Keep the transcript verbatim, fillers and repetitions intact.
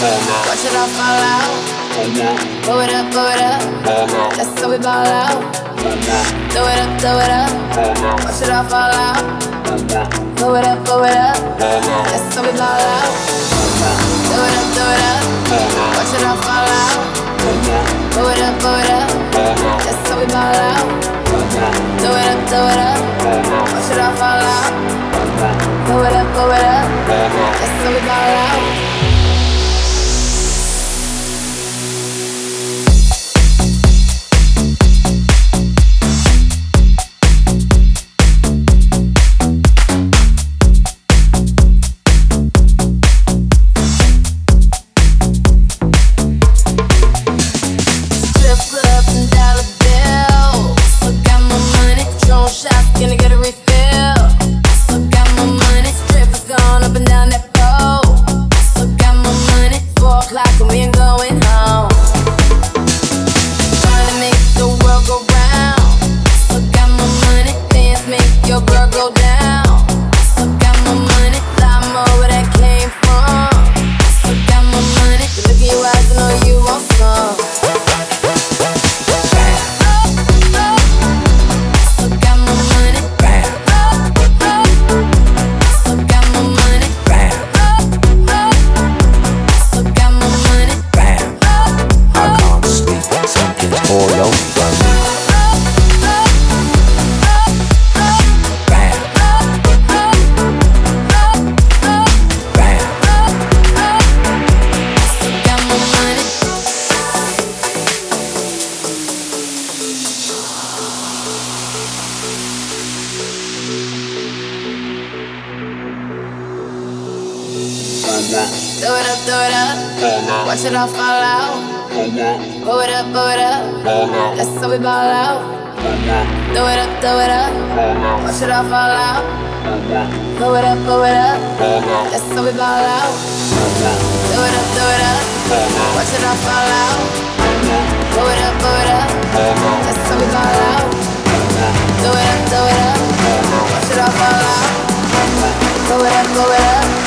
Watch it all fall out. Blow it up, blow it up. That's how we ball out. Throw it up, throw it up. Watch it all fall out. Blow it up, blow it up. That's how we ball out. Throw it up, throw it up. Watch it all fall out. Blow it up, blow it up. That's how we ball out. Throw it up, throw it up. Watch it all fall out. Blow it up, blow it up. That's how we ball out. Throw it up, throw it up. Watch it all fall out. Blow it up, blow it up. That's how we ball out. Throw it up, throw it up. Watch it all fall out. Blow it up, blow it up. That's how we ball out. Throw it up, throw it up. Watch it all fall out. Blow it up, blow it up. That's how we ball out. Throw it up, throw it up. Watch it all fall out. Blow it up, blow it up.